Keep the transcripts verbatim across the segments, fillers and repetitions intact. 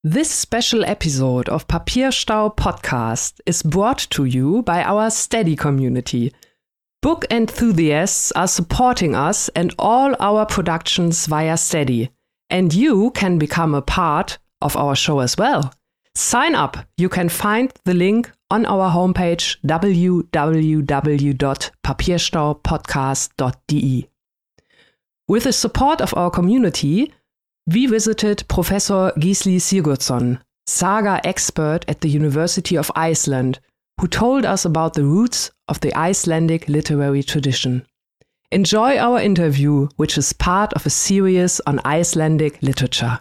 This special episode of Papierstau Podcast is brought to you by our Steady community. Book enthusiasts are supporting us and all our productions via Steady. And you can become a part of our show as well. Sign up. You can find the link on our homepage w w w dot papierstaupodcast dot d e. With the support of our community, we visited Professor Gisli Sigurdsson, saga expert at the University of Iceland, who told us about the roots of the Icelandic literary tradition. Enjoy our interview, which is part of a series on Icelandic literature.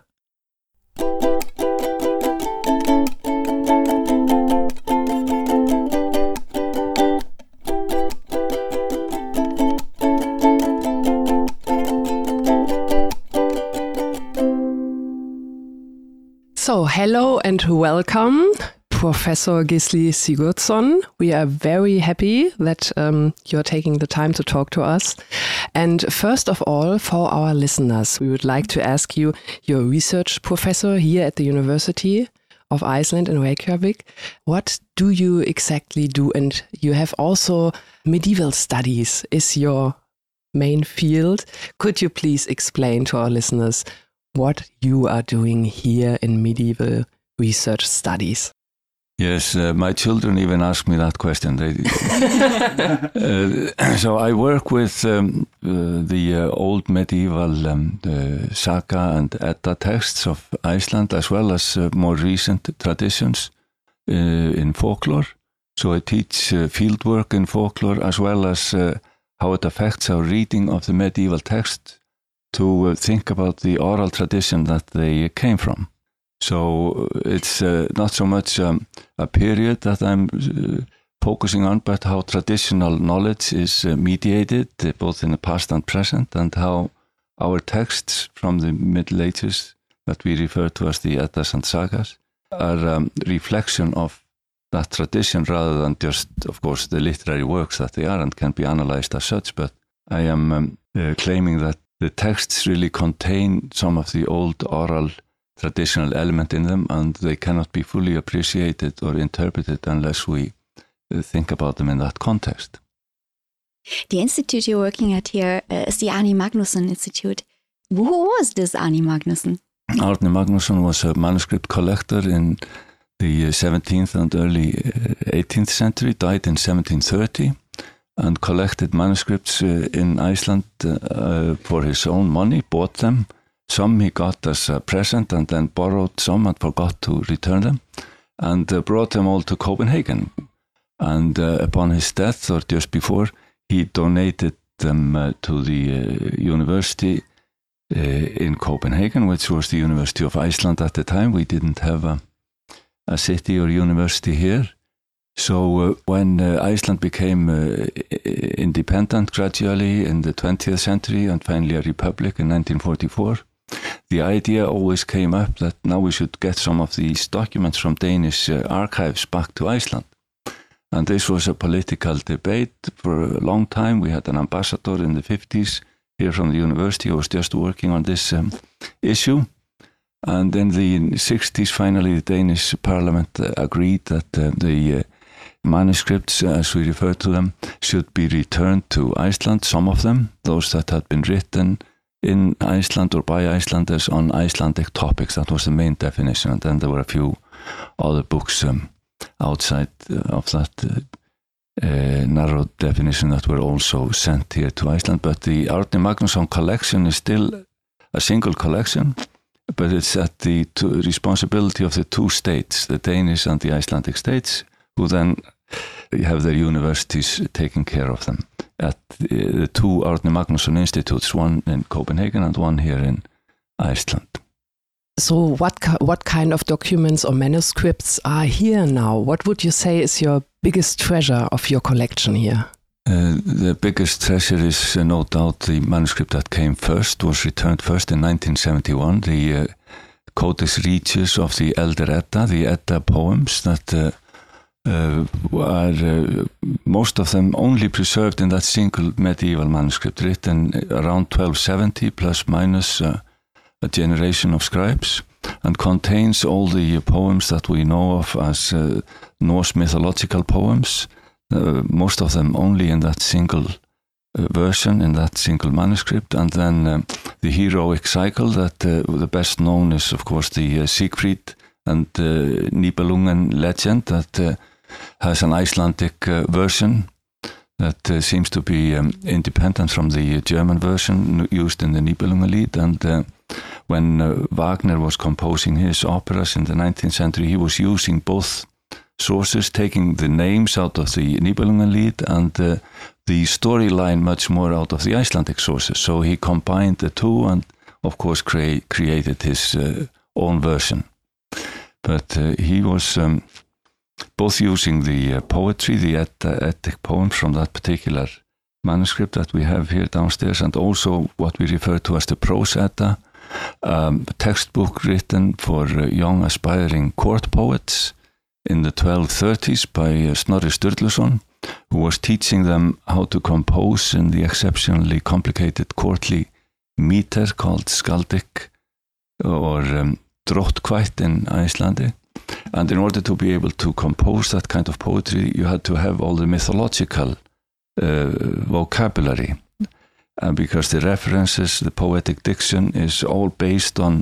So, hello and welcome, Professor Gisli Sigurdsson. We are very happy that um, you're taking the time to talk to us. And first of all, for our listeners, we would like to ask you, you're a research professor here at the University of Iceland in Reykjavik. What do you exactly do? And you have also medieval studies is your main field. Could you please explain to our listeners what you are doing here in medieval research studies? Yes, uh, my children even ask me that question. They, uh, so I work with um, uh, the uh, old medieval um, uh, saga and Edda texts of Iceland, as well as uh, more recent traditions uh, in folklore. So I teach uh, fieldwork in folklore, as well as uh, how it affects our reading of the medieval text, to uh, think about the oral tradition that they came from. So it's uh, not so much um, a period that I'm uh, focusing on, but how traditional knowledge is uh, mediated, uh, both in the past and present, and how our texts from the Middle Ages, that we refer to as the Eddas and Sagas, are a um, reflection of that tradition rather than just, of course, the literary works that they are and can be analyzed as such. But I am um, uh, claiming that the texts really contain some of the old oral traditional element in them, and they cannot be fully appreciated or interpreted unless we uh, think about them in that context. The institute you're working at here uh, is the Árni Magnússon Institute. Who was this Árni Magnússon? Árni Magnússon was a manuscript collector in the seventeenth and early eighteenth century, died in seventeen thirty. And collected manuscripts uh, in Iceland uh, for his own money, bought them. Some he got as a present and then borrowed some and forgot to return them, and uh, brought them all to Copenhagen. And uh, upon his death, or just before, he donated them uh, to the uh, university uh, in Copenhagen, which was the University of Iceland at the time. We didn't have a, a city or university here. So uh, when uh, Iceland became uh, independent gradually in the twentieth century and finally a republic in nineteen forty-four, the idea always came up that now we should get some of these documents from Danish uh, archives back to Iceland. And this was a political debate for a long time. We had an ambassador in the fifties here from the university who was just working on this um, issue. And in the sixties, finally, the Danish parliament uh, agreed that uh, the uh, manuscripts, as we refer to them, should be returned to Iceland, some of them, those that had been written in Iceland or by Icelanders on Icelandic topics. That was the main definition. And then there were a few other books um, outside uh, of that uh, uh, narrow definition that were also sent here to Iceland. But the Árni Magnússon collection is still a single collection, but it's at the two, responsibility of the two states, the Danish and the Icelandic states, who then have their universities taking care of them at the, the two Árni Magnússon institutes, one in Copenhagen and one here in Iceland. So what what kind of documents or manuscripts are here now? What would you say is your biggest treasure of your collection here? Uh, the biggest treasure is uh, no doubt the manuscript that came first, was returned first in nineteen seventy-one, the uh, Codex Regius of the Elder Edda, the Edda poems that uh, Uh, are uh, most of them only preserved in that single medieval manuscript, written around twelve seventy, plus minus uh, a generation of scribes. and contains all the poems that we know of as uh, Norse mythological poems, uh, most of them only in that single uh, version, in that single manuscript, and then um, the heroic cycle that uh, the best known is, of course, the uh, Siegfried and uh, Nibelungen legend that uh, has an Icelandic uh, version that uh, seems to be um, independent from the German version used in the Nibelungenlied. And uh, when uh, Wagner was composing his operas in the nineteenth century, he was using both sources, taking the names out of the Nibelungenlied and uh, the storyline much more out of the Icelandic sources. So he combined the two and, of course, crea- created his uh, own version. But uh, he was um, both using the uh, poetry, the et- epic poems from that particular manuscript that we have here downstairs, and also what we refer to as the Prose Edda, um, a textbook written for uh, young aspiring court poets in the twelve thirties by uh, Snorri Sturluson, who was teaching them how to compose in the exceptionally complicated courtly meter called skaldik or um, dróttkvætt in Icelandic. And in order to be able to compose that kind of poetry, you had to have all the mythological uh, vocabulary. Uh, because the references, the poetic diction is all based on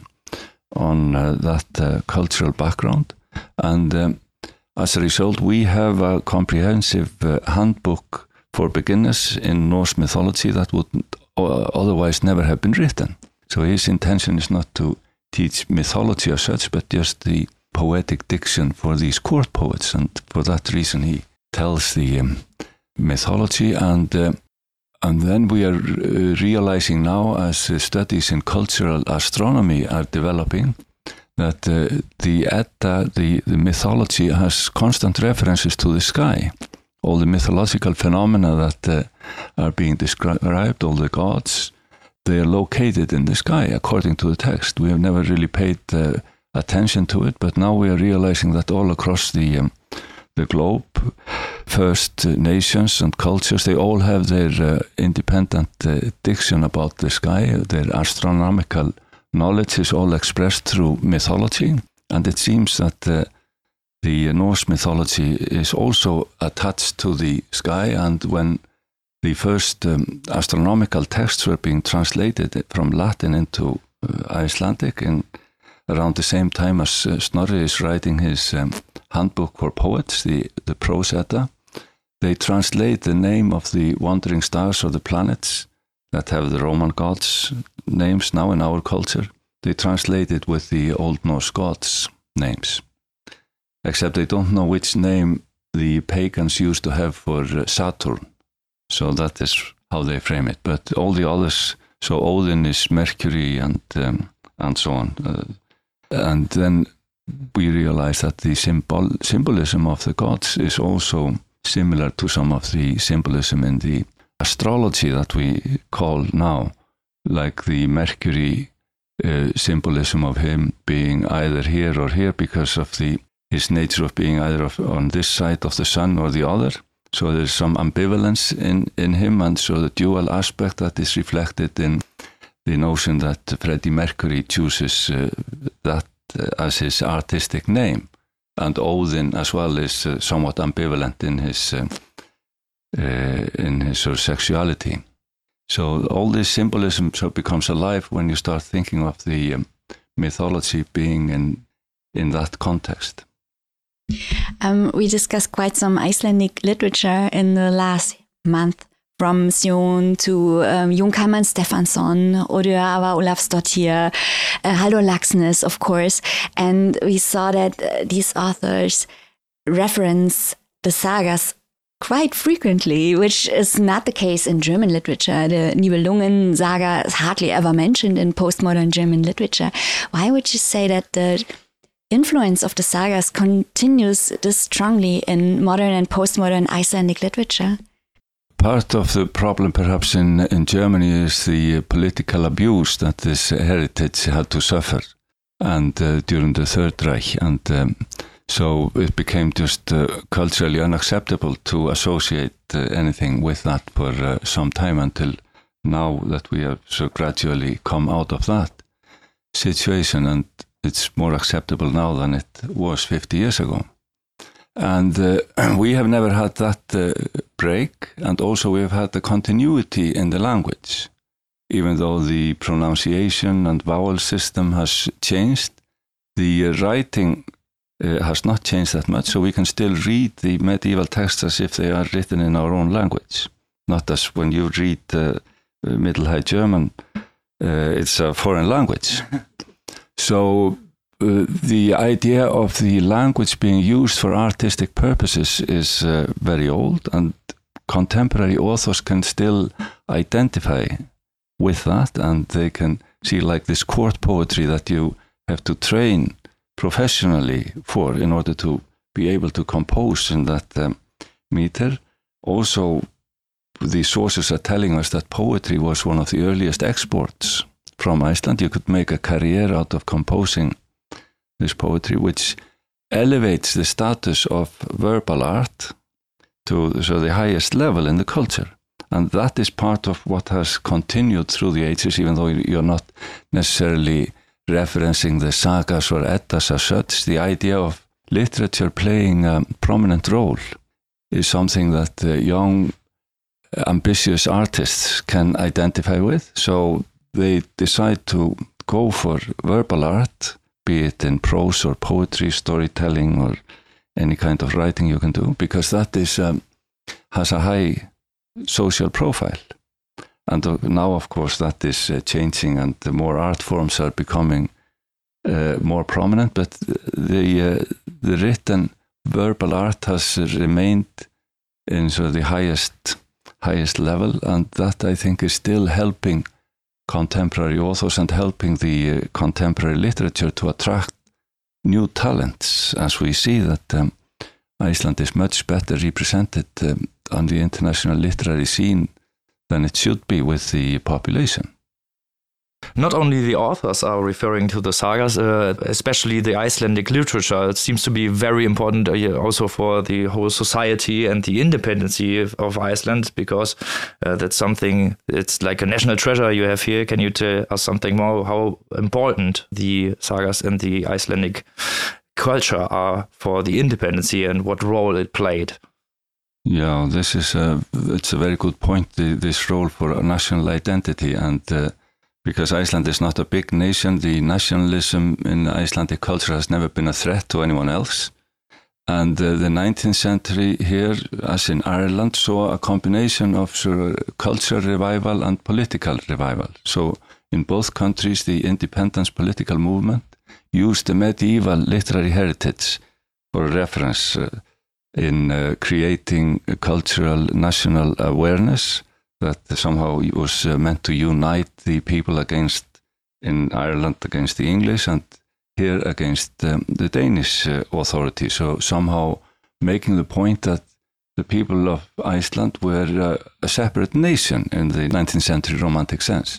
on uh, that uh, cultural background. And um, as a result, we have a comprehensive uh, handbook for beginners in Norse mythology that would uh, otherwise never have been written. So his intention is not to teach mythology as such, but just the poetic diction for these court poets. And for that reason, he tells the um, mythology. And uh, and then we are uh, realizing now, as uh, studies in cultural astronomy are developing, that uh, the Edda, the, the mythology, has constant references to the sky. All the mythological phenomena that uh, are being described, all the gods, they are located in the sky, according to the text. We have never really paid uh, attention to it, but now we are realizing that all across the um, the globe, first uh, nations and cultures, they all have their uh, independent uh, diction about the sky. Their astronomical knowledge is all expressed through mythology, and it seems that uh, the Norse mythology is also attached to the sky. And when the first um, astronomical texts were being translated from Latin into uh, Icelandic, in around the same time as uh, Snorri is writing his um, handbook for poets, the, the Prose Edda, they translate the name of the wandering stars or the planets that have the Roman gods' names now in our culture. They translate it with the Old Norse gods' names, except they don't know which name the pagans used to have for uh, Saturn. So that is how they frame it. But all the others, so Odin is Mercury and um, and so on. Uh, and then we realize that the symbol symbolism of the gods is also similar to some of the symbolism in the astrology that we call now, like the Mercury uh, symbolism of him being either here or here because of the his nature of being either of, on this side of the sun or the other. So there's some ambivalence in, in him, and so the dual aspect that is reflected in the notion that Freddie Mercury chooses uh, that uh, as his artistic name. And Odin as well is uh, somewhat ambivalent in his uh, uh, in his sort of sexuality. So all this symbolism so becomes alive when you start thinking of the um, mythology being in in that context. Um, we discussed quite some Icelandic literature in the last month, from Sjón to um, Jón Kalman Stefánsson, Odur Ava Ólafsdóttir, uh, Halldór Laxness, of course. And we saw that uh, these authors reference the sagas quite frequently, which is not the case in German literature. The Nibelungen saga is hardly ever mentioned in postmodern German literature. Why would you say that the influence of the sagas continues this strongly in modern and postmodern Icelandic literature? Part of the problem perhaps in, in Germany is the political abuse that this heritage had to suffer and uh, during the Third Reich. And um, so it became just uh, culturally unacceptable to associate uh, anything with that for uh, some time, until now that we have so gradually come out of that situation. And it's more acceptable now than it was fifty years ago. And uh, we have never had that uh, break, and also we have had the continuity in the language. Even though the pronunciation and vowel system has changed, the uh, writing uh, has not changed that much, so we can still read the medieval texts as if they are written in our own language. Not as when you read uh, Middle High German, uh, it's a foreign language. So uh, the idea of the language being used for artistic purposes is uh, very old, and contemporary authors can still identify with that, and they can see like this court poetry that you have to train professionally for in order to be able to compose in that um, meter. Also, the sources are telling us that poetry was one of the earliest exports from Iceland. You could make a career out of composing this poetry, which elevates the status of verbal art to so the highest level in the culture. And that is part of what has continued through the ages, even though you're not necessarily referencing the sagas or eddas as such. The idea of literature playing a prominent role is something that uh, young, ambitious artists can identify with. So they decide to go for verbal art, be it in prose or poetry, storytelling, or any kind of writing you can do, because that is um, has a high social profile. And uh, now, of course, that is uh, changing, and the more art forms are becoming uh, more prominent, but the uh, the written verbal art has remained in sort of the highest highest level, and that I think is still helping contemporary authors and helping the uh, contemporary literature to attract new talents, as we see that um, Iceland is much better represented um, on the international literary scene than it should be with the population. Not only the authors are referring to the sagas, uh, especially the Icelandic literature. It seems to be very important uh, also for the whole society and the independency of, of Iceland, because uh, that's something, it's like a national treasure you have here. Can you tell us something more how important the sagas and the Icelandic culture are for the independency and what role it played? Yeah, this is a, it's a very good point, the, this role for national identity. And uh, because Iceland is not a big nation, the nationalism in Icelandic culture has never been a threat to anyone else. And uh, the nineteenth century here, as in Ireland, saw a combination of sort of cultural revival and political revival. So in both countries, the independence political movement used the medieval literary heritage for reference uh, in uh, creating a cultural national awareness that somehow was uh, meant to unite the people against, in Ireland, against the English, and here against um, the Danish uh, authority. So somehow making the point that the people of Iceland were uh, a separate nation in the nineteenth century romantic sense.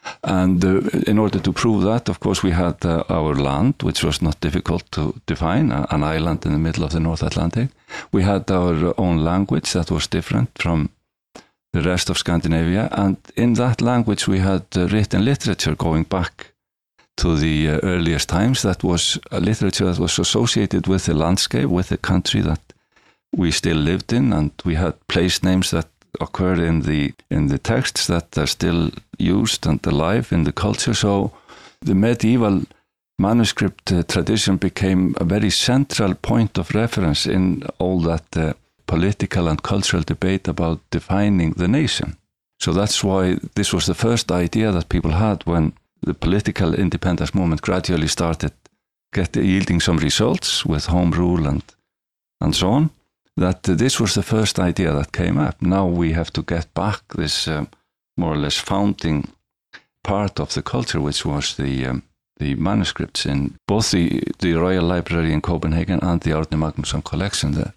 And uh, in order to prove that, of course, we had uh, our land, which was not difficult to define, uh, an island in the middle of the North Atlantic. We had our own language that was different from the rest of Scandinavia, and in that language we had uh, written literature going back to the uh, earliest times. That was a literature that was associated with the landscape, with the country that we still lived in, and we had place names that occur in the in the texts that are still used and alive in the culture. So the medieval manuscript uh, tradition became a very central point of reference in all that uh, political and cultural debate about defining the nation. So that's why this was the first idea that people had when the political independence movement gradually started get, yielding some results with home rule and, and so on, that uh, this was the first idea that came up. Now we have to get back this um, more or less founding part of the culture, which was the um, the manuscripts in both the, the Royal Library in Copenhagen and the Árni Magnússon collection there.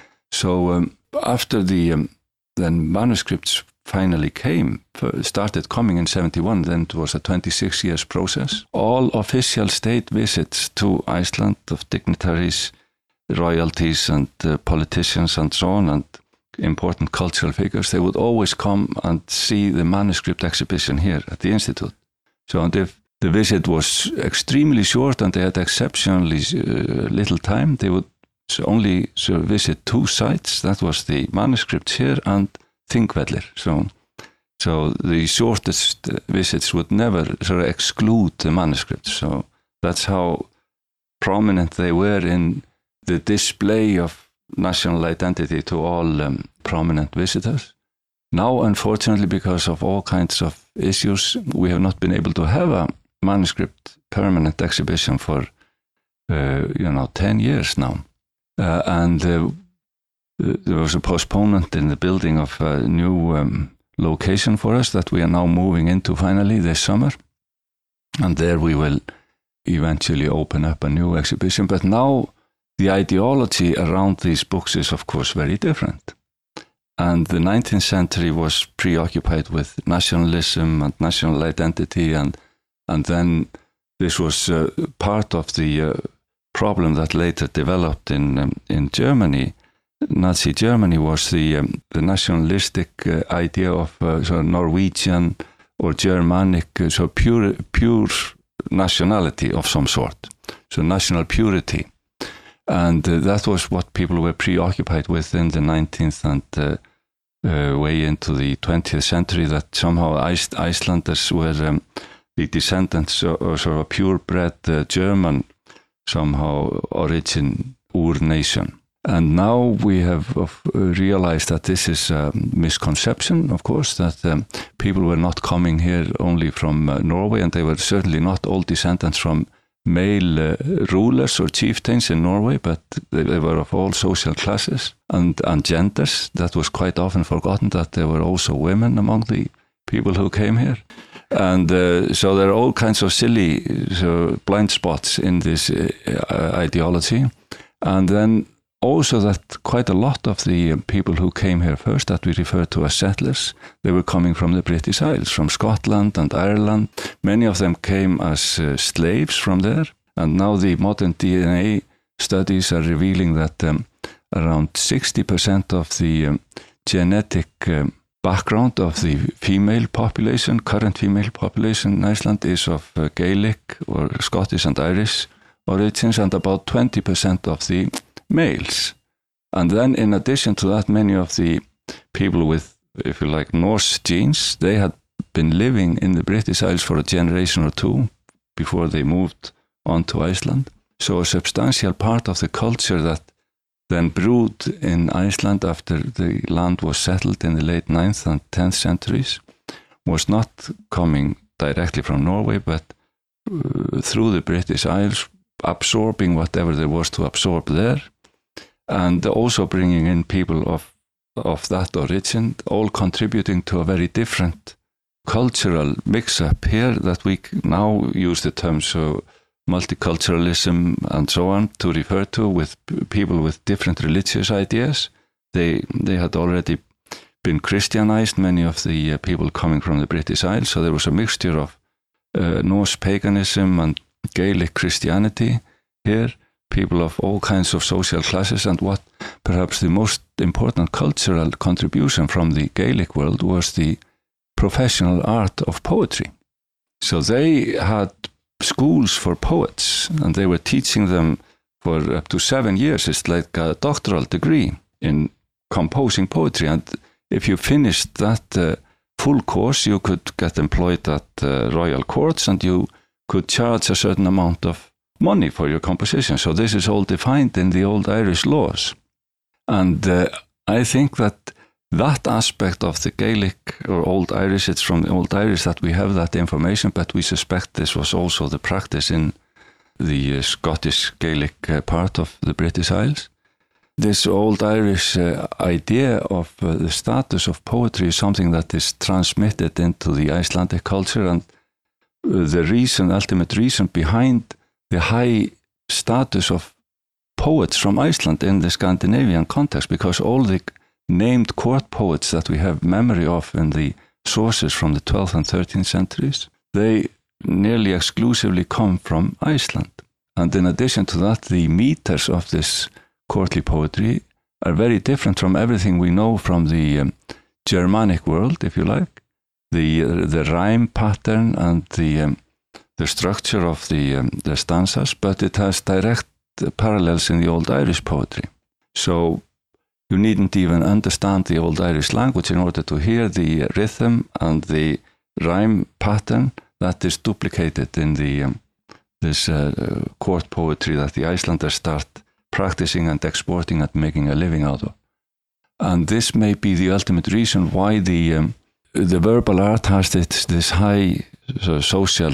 So um, after the um, then manuscripts finally came, started coming in seventy-one, then it was a twenty-six years process. All official state visits to Iceland of dignitaries, royalties and uh, politicians and so on, and important cultural figures, they would always come and see the manuscript exhibition here at the Institute. So and if the visit was extremely short and they had exceptionally uh, little time. They would only so visit two sites. That was the manuscripts here and Þingvellir. So, so the shortest visits would never sort of exclude the manuscripts. So that's how prominent they were in the display of national identity to all um, prominent visitors. Now, unfortunately, because of all kinds of issues, we have not been able to have a manuscript permanent exhibition for, uh, you know, ten years now. Uh, and uh, there was a postponement in the building of a new um, location for us that we are now moving into finally this summer. And there we will eventually open up a new exhibition. But now the ideology around these books is, of course, very different. And the nineteenth century was preoccupied with nationalism and national identity, and and then this was uh, part of the uh, problem that later developed in um, in Germany. Nazi Germany was the um, the nationalistic uh, idea of uh, sort of Norwegian or Germanic, uh, so pure pure nationality of some sort, so national purity. And uh, that was what people were preoccupied with in the nineteenth and uh, uh, way into the twentieth century, that somehow Ice- Icelanders were um, the descendants of, of sort of a purebred uh, German, somehow origin, ur-nation. And now we have uh, realized that this is a misconception, of course, that um, people were not coming here only from uh, Norway, and they were certainly not all descendants from male uh, rulers or chieftains in Norway, but they, they were of all social classes and, and genders. That was quite often forgotten, that there were also women among the people who came here. And uh, so there are all kinds of silly so blind spots in this uh, ideology. And then also that quite a lot of the people who came here first, that we refer to as settlers, they were coming from the British Isles, from Scotland and Ireland. Many of them came as uh, slaves from there. And now the modern D N A studies are revealing that um, around sixty percent of the um, genetic um, background of the female population, current female population in Iceland, is of uh, Gaelic or Scottish and Irish origins, and about twenty percent of the males. And then in addition to that, many of the people with, if you like, Norse genes, they had been living in the British Isles for a generation or two before they moved on to Iceland. So a substantial part of the culture that then brewed in Iceland after the land was settled in the late ninth and tenth centuries was not coming directly from Norway, but uh, through the British Isles, absorbing whatever there was to absorb there, and also bringing in people of of that origin, all contributing to a very different cultural mix-up here that we now use the term so multiculturalism and so on to refer to, with people with different religious ideas. They they had already been Christianized, many of the uh, people coming from the British Isles, so there was a mixture of uh, Norse paganism and Gaelic Christianity here, people of all kinds of social classes. And what perhaps the most important cultural contribution from the Gaelic world was the professional art of poetry. So they had schools for poets, and they were teaching them for up to seven years. It's like a doctoral degree in composing poetry. And if you finished that uh, full course, you could get employed at uh, royal courts, and you could charge a certain amount of money for your composition. So this is all defined in the old Irish laws. And uh, I think that that aspect of the Gaelic or Old Irish, it's from the Old Irish that we have that information, but we suspect this was also the practice in the uh, Scottish Gaelic uh, part of the British Isles. This Old Irish uh, idea of uh, the status of poetry is something that is transmitted into the Icelandic culture, and uh, the reason, ultimate reason behind the high status of poets from Iceland in the Scandinavian context, because all the named court poets that we have memory of in the sources from the twelfth and thirteenth centuries, they nearly exclusively come from Iceland. And in addition to that, the meters of this courtly poetry are very different from everything we know from the um, Germanic world, if you like. The uh, the rhyme pattern and the um, the structure of the, um, the stanzas, but it has direct parallels in the Old Irish poetry. So you needn't even understand the Old Irish language in order to hear the rhythm and the rhyme pattern that is duplicated in the um, this uh, court poetry that the Icelanders start practicing and exporting and making a living out of. And this may be the ultimate reason why the um, the verbal art has this, this high uh, social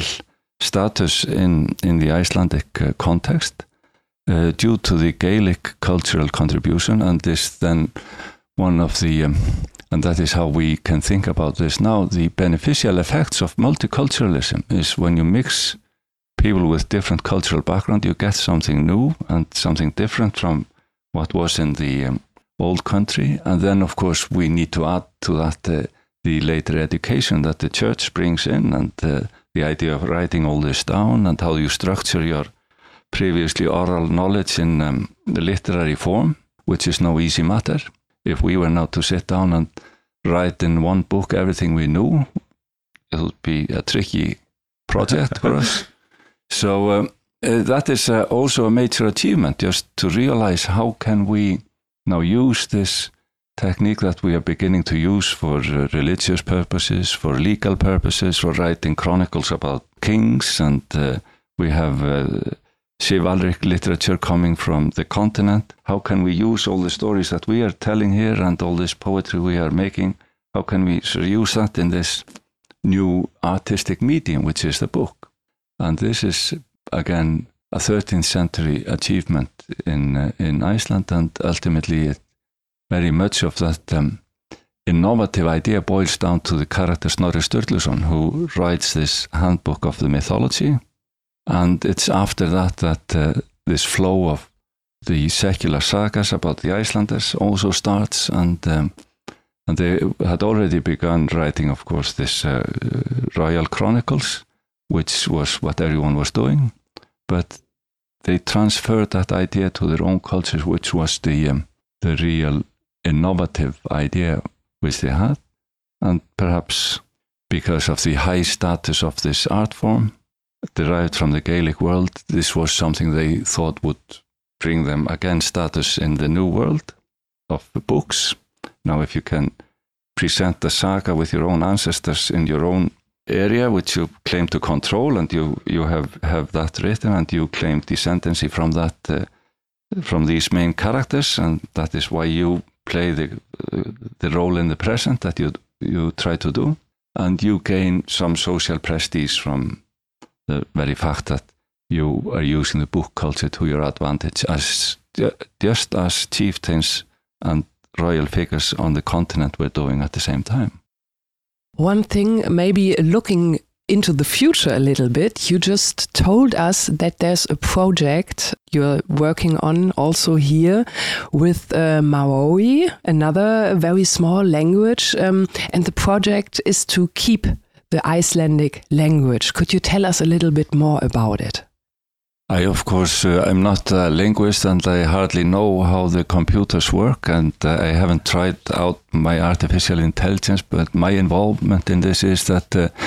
status in, in the Icelandic uh, context uh, due to the Gaelic cultural contribution, and this then one of the, um, and that is how we can think about this now, the beneficial effects of multiculturalism is when you mix people with different cultural background, you get something new and something different from what was in the um, old country. And then, of course, we need to add to that uh, the later education that the church brings in, and uh, the idea of writing all this down and how you structure your previously oral knowledge in um, the literary form, which is no easy matter. If we were now to sit down and write in one book everything we knew, it would be a tricky project for us. So um, uh, that is uh, also a major achievement, just to realize how can we now use this technique that we are beginning to use for uh, religious purposes, for legal purposes, for writing chronicles about kings, and uh, we have uh, chivalric literature coming from the continent. How can we use all the stories that we are telling here and all this poetry we are making, how can we use that in this new artistic medium, which is the book? And this is, again, a thirteenth century achievement in uh, in Iceland, and ultimately it, very much of that um, innovative idea boils down to the character Snorri Sturluson, who writes this handbook of the mythology. And it's after that that uh, this flow of the secular sagas about the Icelanders also starts, and um, and they had already begun writing, of course, this uh, royal chronicles, which was what everyone was doing, but they transferred that idea to their own culture, which was the um, the real innovative idea which they had. And perhaps because of the high status of this art form, derived from the Gaelic world, this was something they thought would bring them again status in the new world of the books. Now, if you can present the saga with your own ancestors in your own area, which you claim to control, and you, you have, have that written, and you claim descendancy from that, uh, from these main characters, and that is why you play the uh, the role in the present that you you try to do, and you gain some social prestige from the very fact that you are using the book culture to your advantage, as just as chieftains and royal figures on the continent were doing at the same time. One thing, maybe looking into the future a little bit, you just told us that there's a project you're working on also here with uh, Maori, another very small language, um, and the project is to keep the Icelandic language. Could you tell us a little bit more about it? I, of course, uh, I'm not a linguist, and I hardly know how the computers work, and uh, I haven't tried out my artificial intelligence, but my involvement in this is that uh,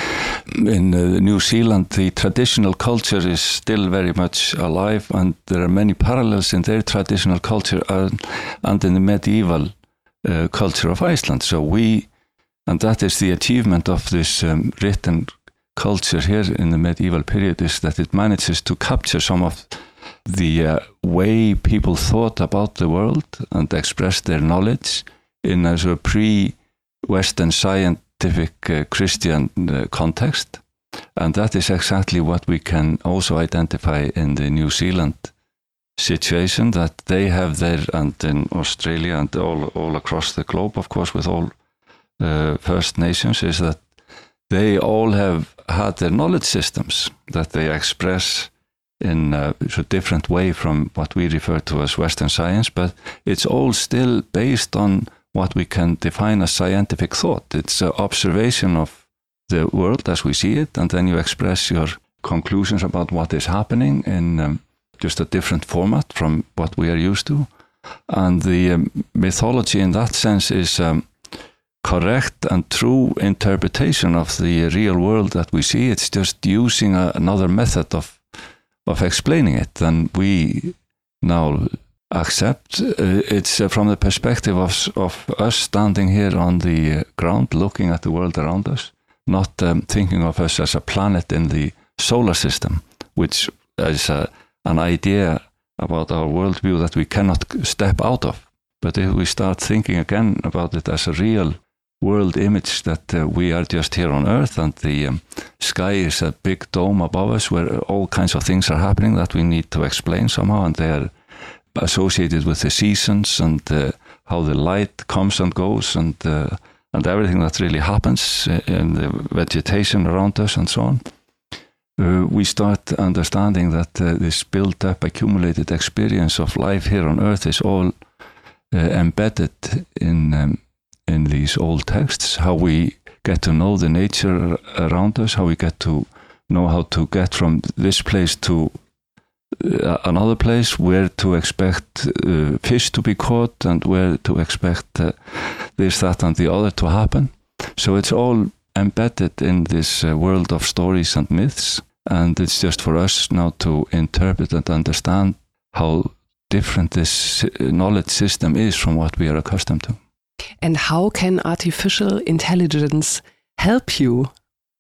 in uh, New Zealand, the traditional culture is still very much alive, and there are many parallels in their traditional culture and, and in the medieval uh, culture of Iceland. So we, and that is the achievement of this um, written culture here in the medieval period, is that it manages to capture some of the uh, way people thought about the world and expressed their knowledge in a sort of pre-Western scientific uh, Christian uh, context. And that is exactly what we can also identify in the New Zealand situation, that they have there, and in Australia and all, all across the globe, of course, with all uh, First Nations, is that they all have had their knowledge systems that they express in a different way from what we refer to as Western science, but it's all still based on what we can define as scientific thought. It's an observation of the world as we see it, and then you express your conclusions about what is happening in um, just a different format from what we are used to. And the um, mythology in that sense is um, correct and true interpretation of the real world that we see. It's just using a, another method of of explaining it, and we now accept. Uh, it's uh, from the perspective of of us standing here on the uh, ground, looking at the world around us, not um, thinking of us as a planet in the solar system, which is a, an idea about our worldview that we cannot step out of. But if we start thinking again about it as a real world image, that uh, we are just here on Earth and the um, sky is a big dome above us where all kinds of things are happening that we need to explain somehow, and they are associated with the seasons and uh, how the light comes and goes, and uh, and everything that really happens in the vegetation around us and so on. Uh, we start understanding that uh, this built-up, accumulated experience of life here on Earth is all uh, embedded in um, in these old texts. How we get to know the nature around us, how we get to know how to get from this place to uh, another place, where to expect uh, fish to be caught, and where to expect uh, this, that, and the other to happen. So it's all embedded in this uh, world of stories and myths. And it's just for us now to interpret and understand how different this knowledge system is from what we are accustomed to. And how can artificial intelligence help you?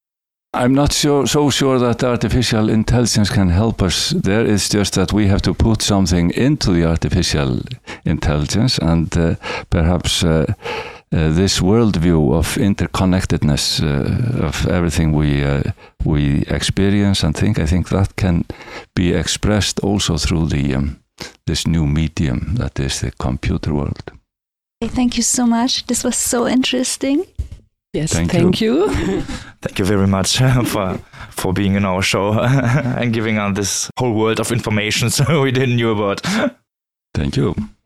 I'm not sure, so sure that artificial intelligence can help us there. It's just that we have to put something into the artificial intelligence, and uh, perhaps uh, Uh, this worldview of interconnectedness uh, of everything we uh, we experience and think. I think that can be expressed also through the um, this new medium that is the computer world. Thank you so much. This was so interesting. Yes, thank, thank you. you. Thank you very much for for being in our show and giving us this whole world of information so we didn't knew about. Thank you.